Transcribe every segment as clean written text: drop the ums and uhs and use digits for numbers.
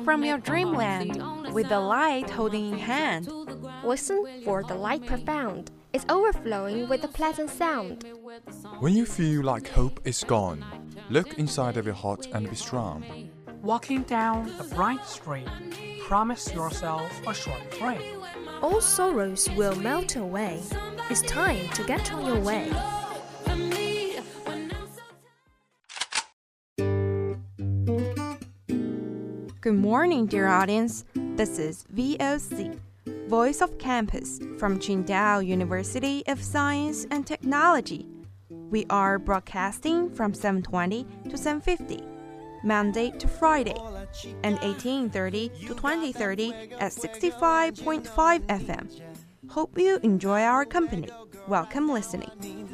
from your dreamland with the light holding in hand. Listen for the light profound. It's overflowing with a pleasant sound. When you feel like hope is gone, look inside of your heart and be strong. Walking down a bright street, promise yourself a short break. All sorrows will melt away. It's time to get on your way. Good morning, dear audience. This is VOC, Voice of Campus from Qingdao University of Science and Technology. We are broadcasting from 7:20 to 7:50, Monday to Friday, and 18:30 to 20:30 at 65.5 FM. Hope you enjoy our company. Welcome listening.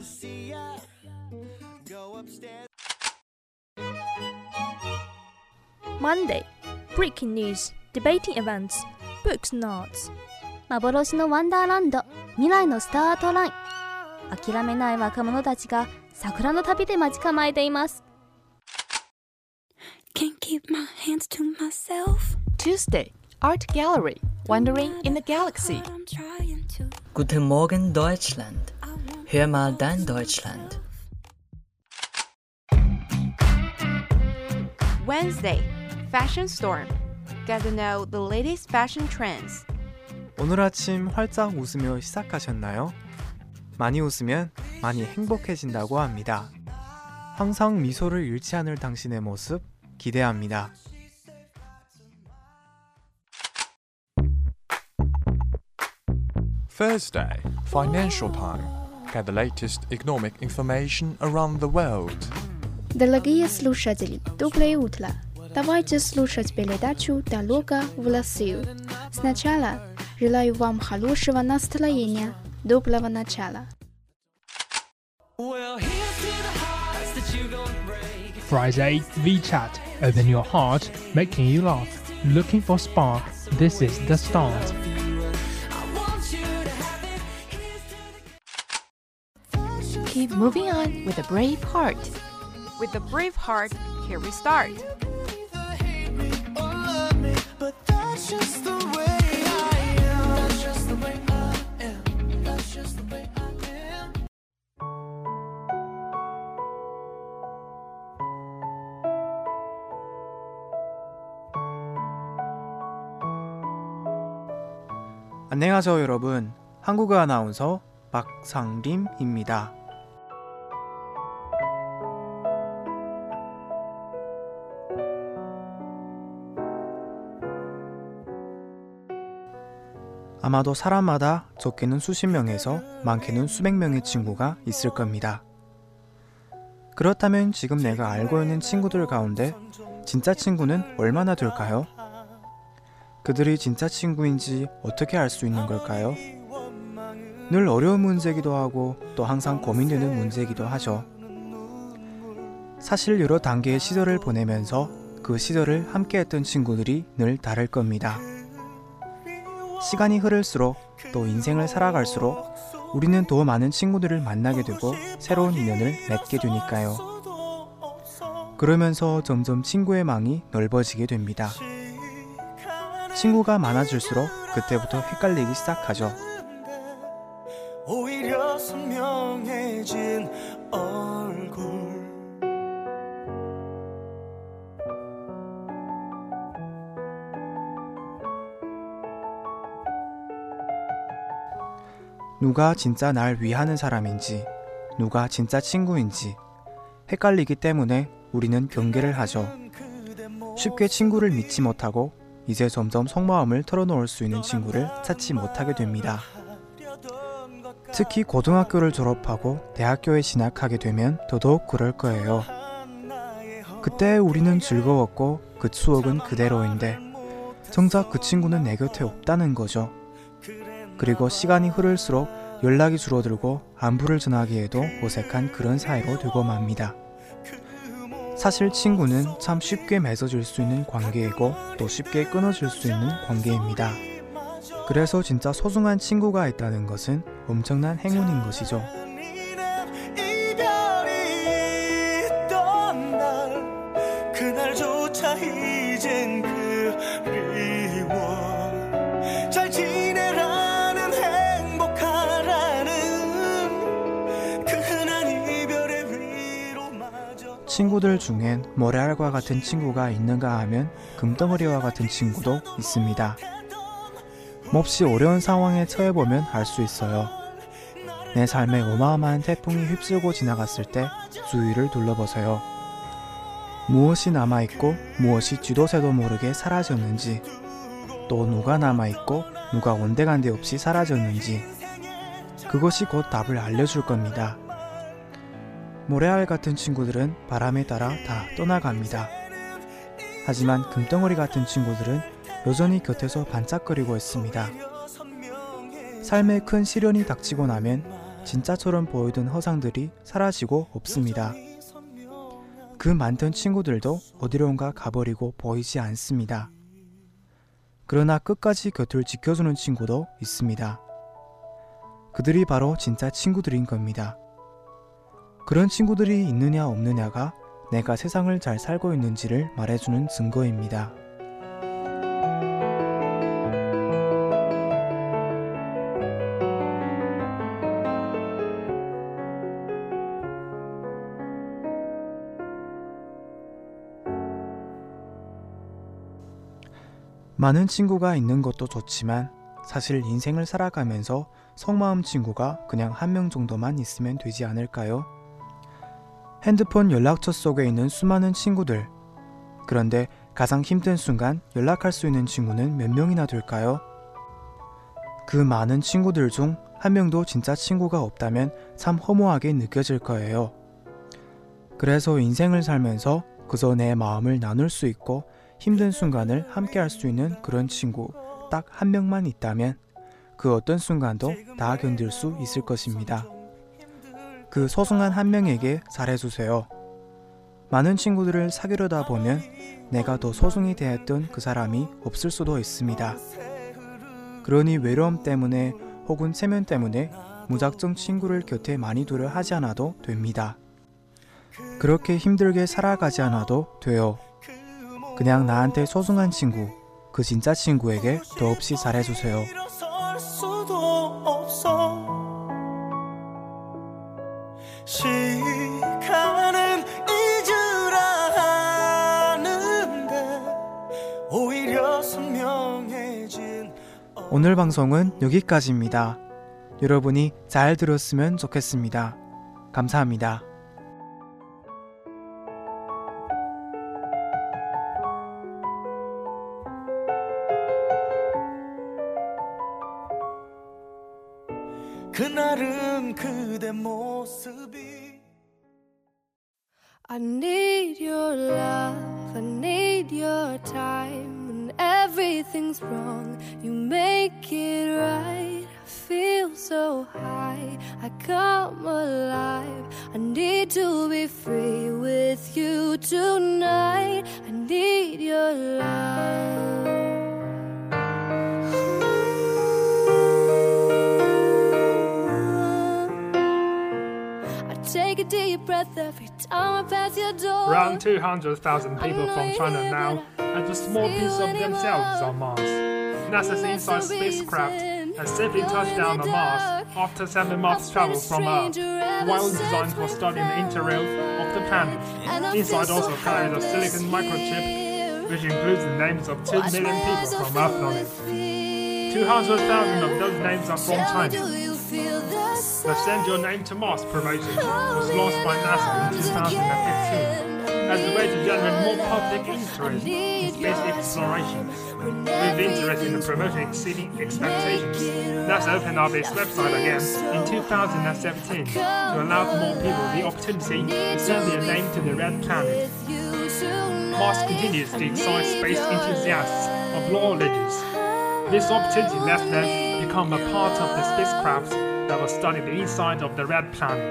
Monday, breaking news, debating events, books notes. 幻のワンダーランド、未来のスタートライン。諦めない若者たちが桜の旅で待ち構えています。 Can't keep my hands to myself. Tuesday, Art Gallery, Wandering in the Galaxy. Guten Morgen, Deutschland. Hör mal dein Deutschland. Wednesday, Fashion Storm. Get to know the latest fashion trends. 오늘 아침 활짝 웃으며 시작하셨나요? 많이 웃으면 많이 행복해진다고 합니다. 항상 미소를 잃지 않을 당신의 모습 기대합니다. Thursday, Financial Time. Get the latest economic information around the world. Дорогие слушатели, доброе утро. Давайте слушать передачу «Дорога в Россию». Сначала желаю вам хорошего настроения, доброго начала. Friday, VChat. Open your heart, making you laugh. Looking for spark. This is the start. Keep moving on with a brave heart. With a brave heart, here we start. 안녕하세요 여러분. 한국어 아나운서 박상림입니다. 아마도 사람마다 적게는 수십 명에서 많게는 수백 명의 친구가 있을 겁니다. 그렇다면 지금 내가 알고 있는 친구들 가운데 진짜 친구는 얼마나 될까요? 그들이 진짜 친구인지 어떻게 알 수 있는 걸까요? 늘 어려운 문제이기도 하고 또 항상 고민되는 문제이기도 하죠. 사실 여러 단계의 시절을 보내면서 그 시절을 함께했던 친구들이 늘 다를 겁니다. 시간이 흐를수록 또 인생을 살아갈수록 우리는 더 많은 친구들을 만나게 되고 새로운 인연을 맺게 되니까요. 그러면서 점점 친구의 망이 넓어지게 됩니다. 친구가 많아질수록 그때부터 헷갈리기 시작하죠. 오히려 선명해진 얼굴 누가 진짜 날 위하는 사람인지 누가 진짜 친구인지 헷갈리기 때문에 우리는 경계를 하죠. 쉽게 친구를 믿지 못하고 이제 점점 속마음을 털어놓을 수 있는 친구를 찾지 못하게 됩니다. 특히 고등학교를 졸업하고 대학교에 진학하게 되면 더더욱 그럴 거예요. 그때 우리는 즐거웠고 그 추억은 그대로인데 정작 그 친구는 내 곁에 없다는 거죠. 그리고 시간이 흐를수록 연락이 줄어들고 안부를 전하기에도 어색한 그런 사이로 되고 맙니다. 사실 친구는 참 쉽게 맺어질 수 있는 관계이고 또 쉽게 끊어질 수 있는 관계입니다. 그래서 진짜 소중한 친구가 있다는 것은 엄청난 행운인 것이죠. 그날조차 이젠 그 친구들 중엔 모래알과 같은 친구가 있는가 하면 금덩어리와 같은 친구도 있습니다. 몹시 어려운 상황에 처해보면 알 수 있어요. 내 삶에 어마어마한 태풍이 휩쓸고 지나갔을 때 주위를 둘러보세요. 무엇이 남아있고 무엇이 쥐도새도 모르게 사라졌는지, 또 누가 남아있고 누가 온데간데 없이 사라졌는지, 그것이 곧 답을 알려줄 겁니다. 모래알 같은 친구들은 바람에 따라 다 떠나갑니다. 하지만 금덩어리 같은 친구들은 여전히 곁에서 반짝거리고 있습니다. 삶에 큰 시련이 닥치고 나면 진짜처럼 보이던 허상들이 사라지고 없습니다. 그 많던 친구들도 어디론가 가버리고 보이지 않습니다. 그러나 끝까지 곁을 지켜주는 친구도 있습니다. 그들이 바로 진짜 친구들인 겁니다. 그런 친구들이 있느냐 없느냐가 내가 세상을 잘 살고 있는지를 말해주는 증거입니다. 많은 친구가 있는 것도 좋지만 사실 인생을 살아가면서 속마음 친구가 그냥 한 명 정도만 있으면 되지 않을까요? 핸드폰 연락처 속에 있는 수많은 친구들, 그런데 가장 힘든 순간 연락할 수 있는 친구는 몇 명이나 될까요? 그 많은 친구들 중 한 명도 진짜 친구가 없다면 참 허무하게 느껴질 거예요. 그래서 인생을 살면서 그저 내 마음을 나눌 수 있고 힘든 순간을 함께 할 수 있는 그런 친구 딱 한 명만 있다면 그 어떤 순간도 다 견딜 수 있을 것입니다. 그 소중한 한 명에게 잘해주세요. 많은 친구들을 사귀려다 보면 내가 더 소중히 대했던 그 사람이 없을 수도 있습니다. 그러니 외로움 때문에 혹은 체면 때문에 무작정 친구를 곁에 많이 두려 하지 않아도 됩니다. 그렇게 힘들게 살아가지 않아도 돼요. 그냥 나한테 소중한 친구, 그 진짜 친구에게 더없이 잘해주세요. 시간은 잊으라 하는데 오히려 선명해진. 오늘 방송은 여기까지입니다. 여러분이 잘 들었으면 좋겠습니다. 감사합니다. 그날은 그대 모습이 I need your love, I need your time. When everything's wrong, you make it right. I feel so high, I come alive. I need to be free with you tonight. I need your love. Take a deep breath every time I pass your door. Around 200,000 people from China now have a small piece of themselves on Mars. NASA's InSight spacecraft has safely touched down on Mars after 7 months travel from Earth, while designed for studying the interior of the planet. InSight also carries a silicon microchip, which includes the names of 2 million people from Earth on it. 200,000 of those names are from China. The Send Your Name to Mars promotion was launched by NASA in 2015 as a way to generate more public interest in space exploration. With interest in the promotion exceeding expectations, NASA opened up its website again in 2017 to allow more people the opportunity to send their name to the Red Planet. Mars continues to excite space enthusiasts of all ages. This opportunity lets them become a part of the spacecraft that will study the inside of the Red Planet.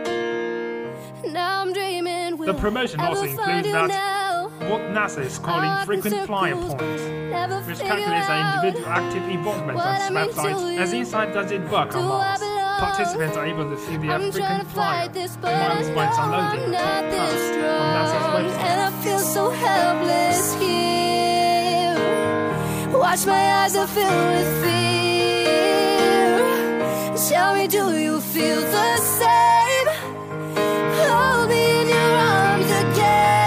The promotion also includes that what NASA is calling frequent flyer points, which calculates an individual active involvement on its website as InSight does its work on Mars. Participants are able to see their frequent flyer miles points unloading top pass on NASA's website. And I feel so helpless here. Watch my eyes are filled with fear. Tell me, do you feel the same? Hold me in your arms again.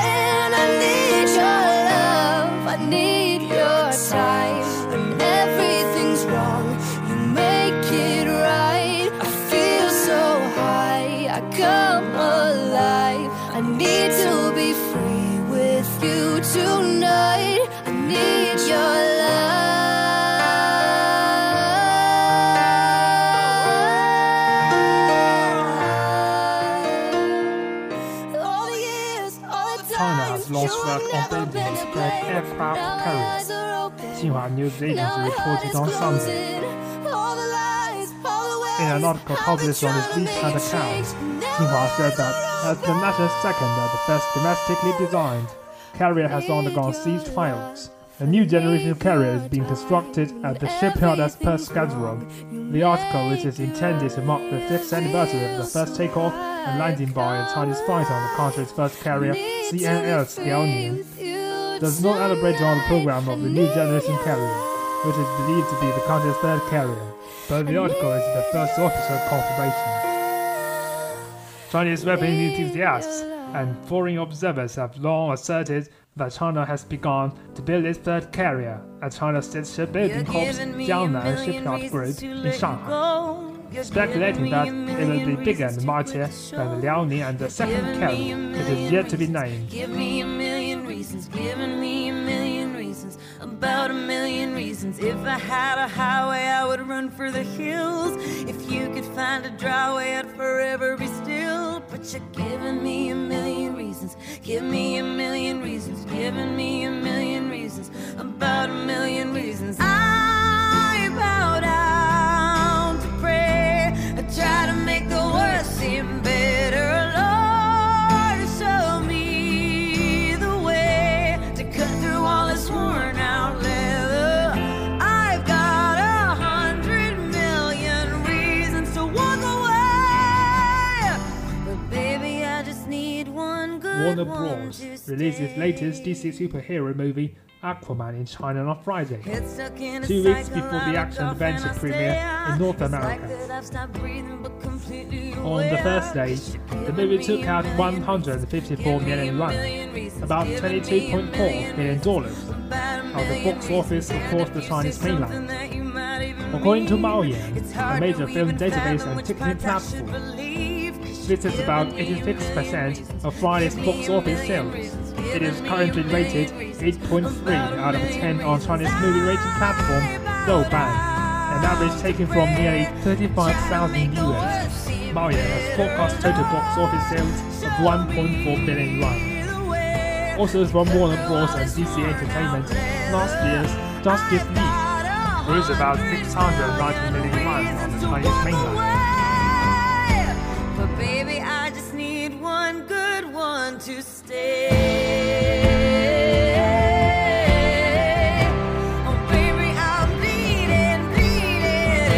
false flag on buildings spread aircraft carriers. Xinhua News Agency reported on Sunday. In an article published on its WeChat account, Xinhua said that as the nation's second and the first domestically designed carrier has undergone siege trials, a new generation of carrier is being constructed at the shipyard as per schedule. The article, which is intended to mark the 5th anniversary of the first takeoff and landing by a Chinese fighter on the country's first carrier, CNL's Liaoning, does not elaborate on the program of the new generation carrier, which is believed to be the country's third carrier, but the article is the first official confirmation. Chinese weapon enthusiasts and foreign observers have long asserted that China has begun to build its third carrier at China's State Shipbuilding Corp's Jiangnan Shipyard Group in Shanghai, speculating that it will be bigger and mightier than the Liaoning and the second carrier, which is yet to be named. Give me a million reasons, giving me a million reasons, about a million reasons. If I had a highway, I would run for the hills. If you could find a dry way, I'd forever be still. But you're giving me a million reasons, give me a million reasons, giving me a million reasons, about a million reasons. I bow down to pray, I try to make the worst seem better. Lord, show me the way to cut through all this worn out leather. I've got 100 million reasons to walk away, but baby, I just need one good Warner Bros. Released its latest DC superhero movie, Aquaman, in China on Friday, 2 weeks before the action-adventure premiere in North America. On the first day, the movie took out 154 million yuan, about $22.4 million, of the box office across the Chinese mainland. According to Maoyan, a major film database and ticketing platform, this is about 86% of Friday's box office sales. It is currently rated 8.3 out of 10 on Chinese movie rating platform Douban, an average taken from nearly 35,000 viewers. Maoyan has forecast total box office sales of 1.4 billion yuan. Also from Warner Bros. And DC Entertainment, last year's Justice League grossed about 690 million yuan on the Chinese mainland. But baby, I just need one good one to stay. Oh baby, I'm bleeding, bleeding.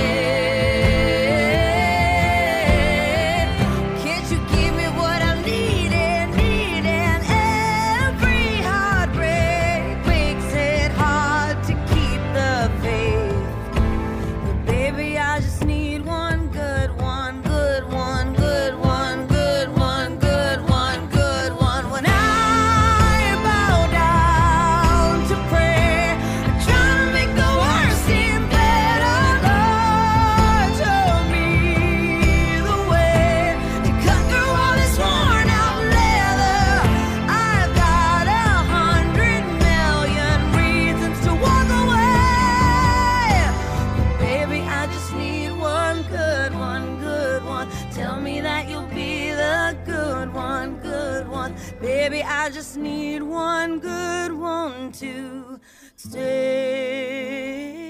Can't you give me what I'm needing, needing? Every heartbreak makes it hard to keep the faith. But baby, I just need one good one, good one, good one, good one, good one, good one. When I bow down to pray, I try to make the worst seem better. Lord, show me the way to cut through all this worn out leather. I've got 100 million reasons to walk away, but baby, I just need one good one, good one. Tell me that you'll be the good one, good one. Baby, I just need one good one to stay.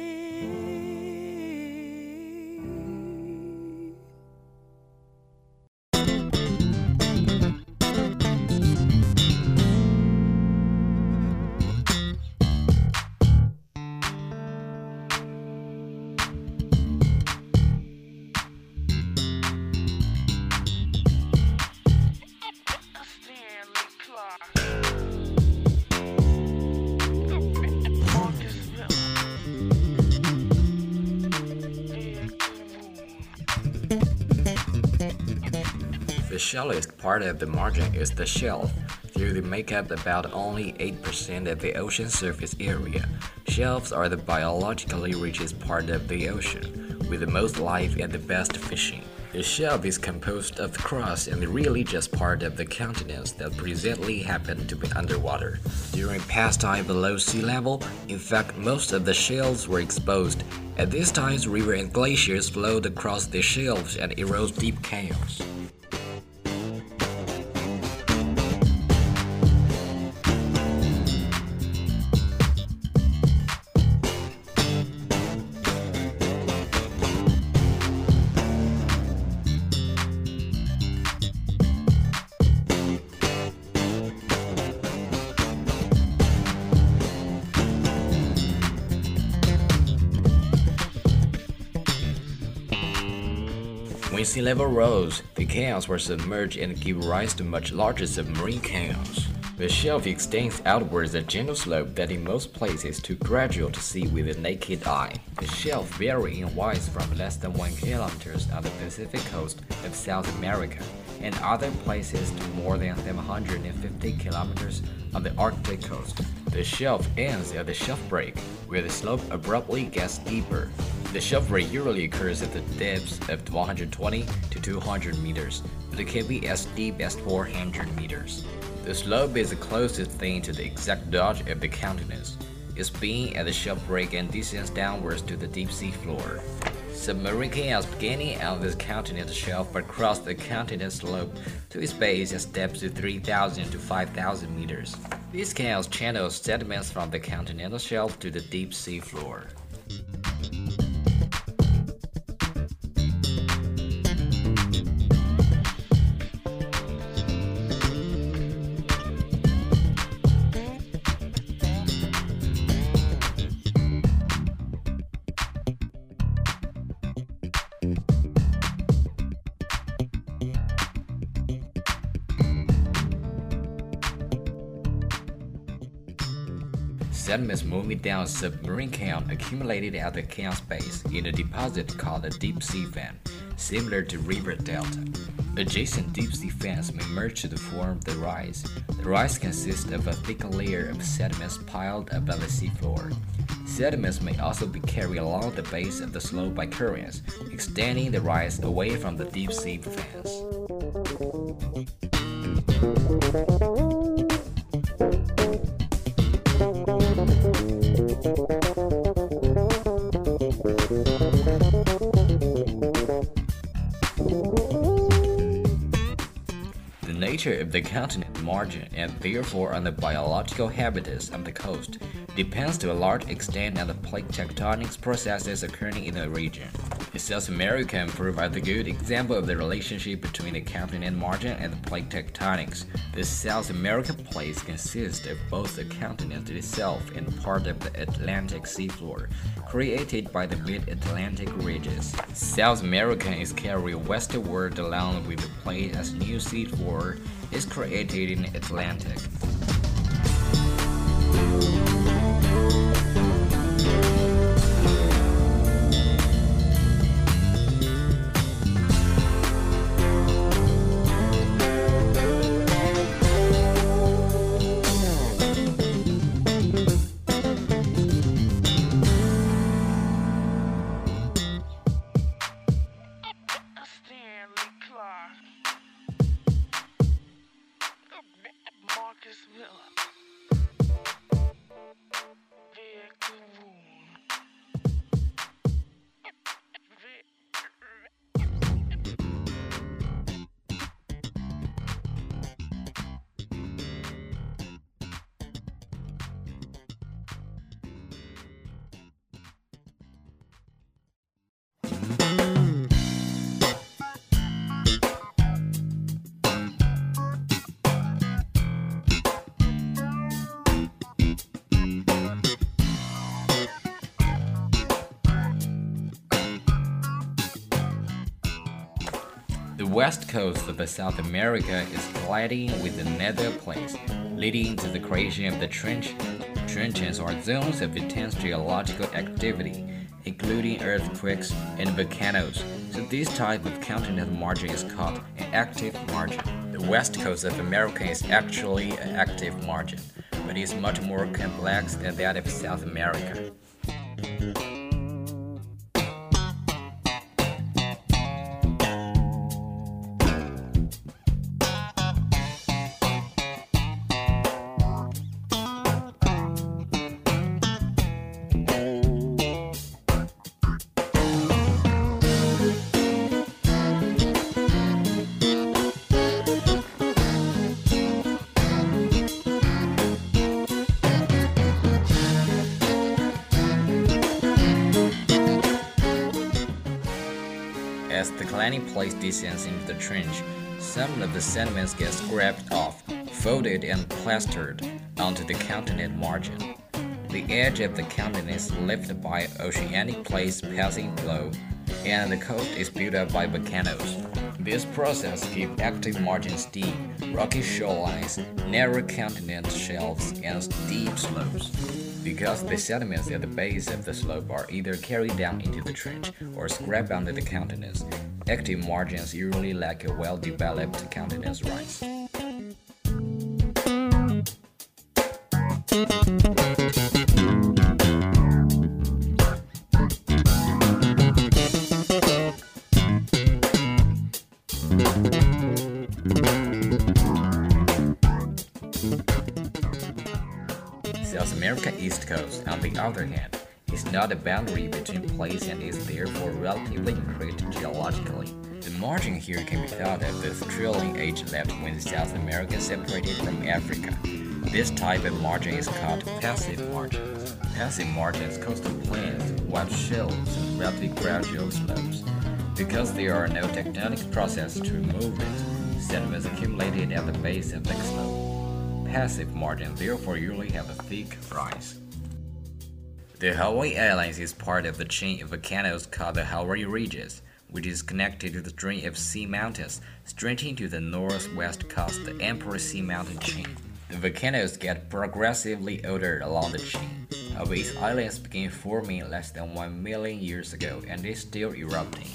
The shallowest part of the margin is the shelf. Though they make up about only 8% of the ocean surface area, shelves are the biologically richest part of the ocean, with the most life and the best fishing. The shelf is composed of crust and really just part of the continents that presently happen to be underwater. During past time below sea level, in fact, most of the shelves were exposed. At these times, rivers and glaciers flowed across the shelves and erode deep canyons. When sea level rose, the canals were submerged and give rise to much larger submarine canals. The shelf extends outwards a gentle slope that in most places is too gradual to see with the naked eye. The shelf vary in width from less than 1 kilometer on the Pacific coast of South America, and other places to more than 750 kilometers on the Arctic coast. The shelf ends at the shelf break, where the slope abruptly gets steeper. The shelf break usually occurs at the depths of 120 to 200 meters, but it can be as deep as 400 meters. The slope is the closest thing to the exact dodge of the continents. It's being at the shelf break and descends downwards to the deep sea floor. Submarine canals beginning on this continental shelf but cross the continental slope to its base at depths of 3,000 to 5,000 meters. These canals channel sediments from the continental shelf to the deep sea floor. Sediments moving down a submarine canal accumulated at the canal's base in a deposit called a deep sea fan, similar to river delta. Adjacent deep sea fans may merge to form the rise. The rise consists of a thick layer of sediments piled above the seafloor. Sediments may also be carried along the base of the slope by currents, extending the rise away from the deep sea fans. The nature of the continent margin and therefore on the biological habitats of the coast depends to a large extent on the plate tectonics processes occurring in the region. South America provides a good example of the relationship between the continent margin and the plate tectonics. The South American plates consist of both the continent itself and part of the Atlantic seafloor, created by the mid-Atlantic ridges. South America is carried westward along with the plate as new seafloor is created in the Atlantic. The west coast of South America is colliding with the nether plates, leading to the creation of the trench. Trenches are zones of intense geological activity, including earthquakes and volcanoes. So this type of continental margin is called an active margin. The west coast of America is actually an active margin, but is much more complex than that of South America. As the declining plate descends into the trench, some of the sediments get scraped off, folded and plastered onto the continent margin. The edge of the continent is lifted by oceanic plates passing below. and the coast is built up by volcanoes. This process gives active margins deep, rocky shorelines, narrow continent shelves, and steep slopes. Because the sediments at the base of the slope are either carried down into the trench or scraped under the continents, active margins usually lack a well-developed continence rise. South America East Coast, on the other hand, is not a boundary between places and is therefore relatively increased geologically. The margin here can be thought of as the trilling age left when South America separated from Africa. This type of margin is called passive margins. Passive margins coastal plains, wide shelves, and relatively gradual slopes. Because there are no tectonic processes to remove it, sediments accumulated at the base of the slope. Passive margins therefore usually have a thick rise. The Hawaii Islands is part of the chain of volcanoes called the Hawaii Ridges, which is connected to the string of sea mountains stretching to the northwest coast, the Emperor Sea Mountain chain. The volcanoes get progressively older along the chain. Hawaii's islands began forming less than 1 million years ago and is still erupting.